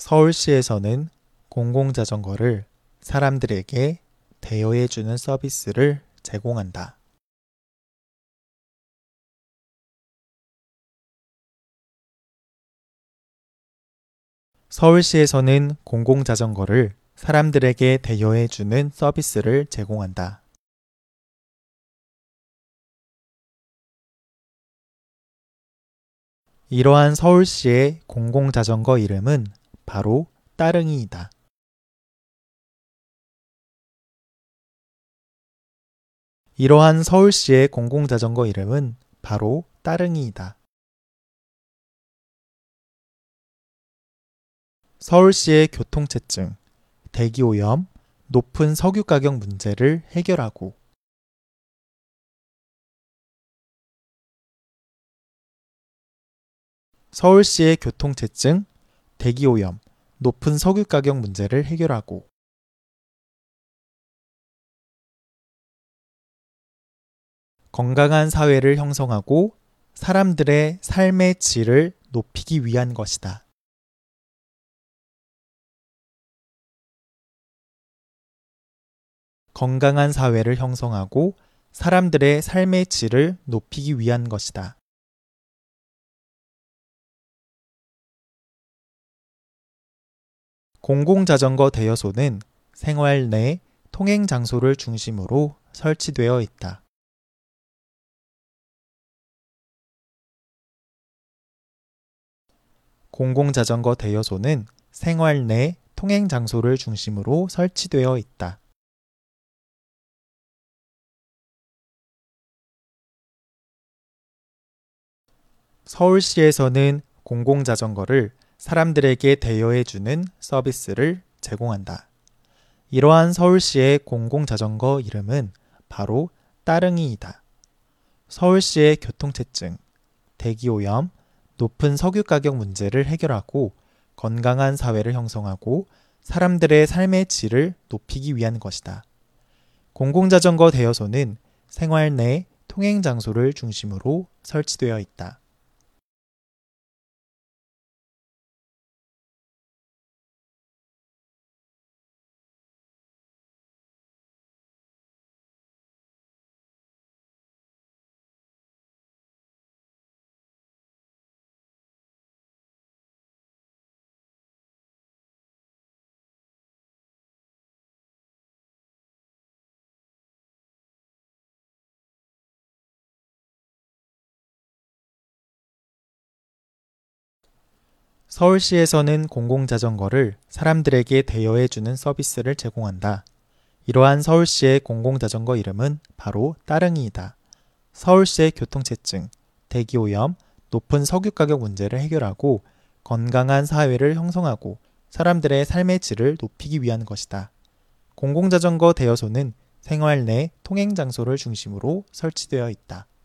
서울시에서는 공공자전거를 사람들에게 대여해주는 서비스를 제공한다. 서울시에서는 공공자전거를 사람들에게 대여해주는 서비스를 제공한다. 이러한 서울시의 공공자전거 이름은 바로 따릉이이다. 이러한 서울시의 공공자전거 이름은 바로 따릉이이다. 서울시의 교통체증, 대기오염, 높은 석유 가격 문제를 해결하고 서울시의 교통체증, 대기오염, 높은 석유 가격 문제를 해결하고 건강한 사회를 형성하고 사람들의 삶의 질을 높이기 위한 것이다. 건강한 사회를 형성하고 사람들의 삶의 질을 높이기 위한 것이다. 공공자전거 대여소는 생활 내 통행 장소를 중심으로 설치되어 있다. 공공자전거 대여소는 생활 내 통행 장소를 중심으로 설치되어 있다. 서울시에서는 공공자전거를 사람들에게 대여해주는 서비스를 제공한다. 이러한 서울시의 공공자전거 이름은 바로 따릉이이다. 서울시의 교통체증, 대기오염, 높은 석유 가격 문제를 해결하고 건강한 사회를 형성하고 사람들의 삶의 질을 높이기 위한 것이다. 공공자전거 대여소는 생활 내 통행 장소를 중심으로 설치되어 있다. 서울시에서는 공공자전거를 사람들에게 대여해주는 서비스를 제공한다. 이러한 서울시의 공공자전거 이름은 바로 따릉이이다. 서울시의 교통체증, 대기오염, 높은 석유 가격 문제를 해결하고 건강한 사회를 형성하고 사람들의 삶의 질을 높이기 위한 것이다. 공공자전거 대여소는 생활 내 통행 장소를 중심으로 설치되어 있다.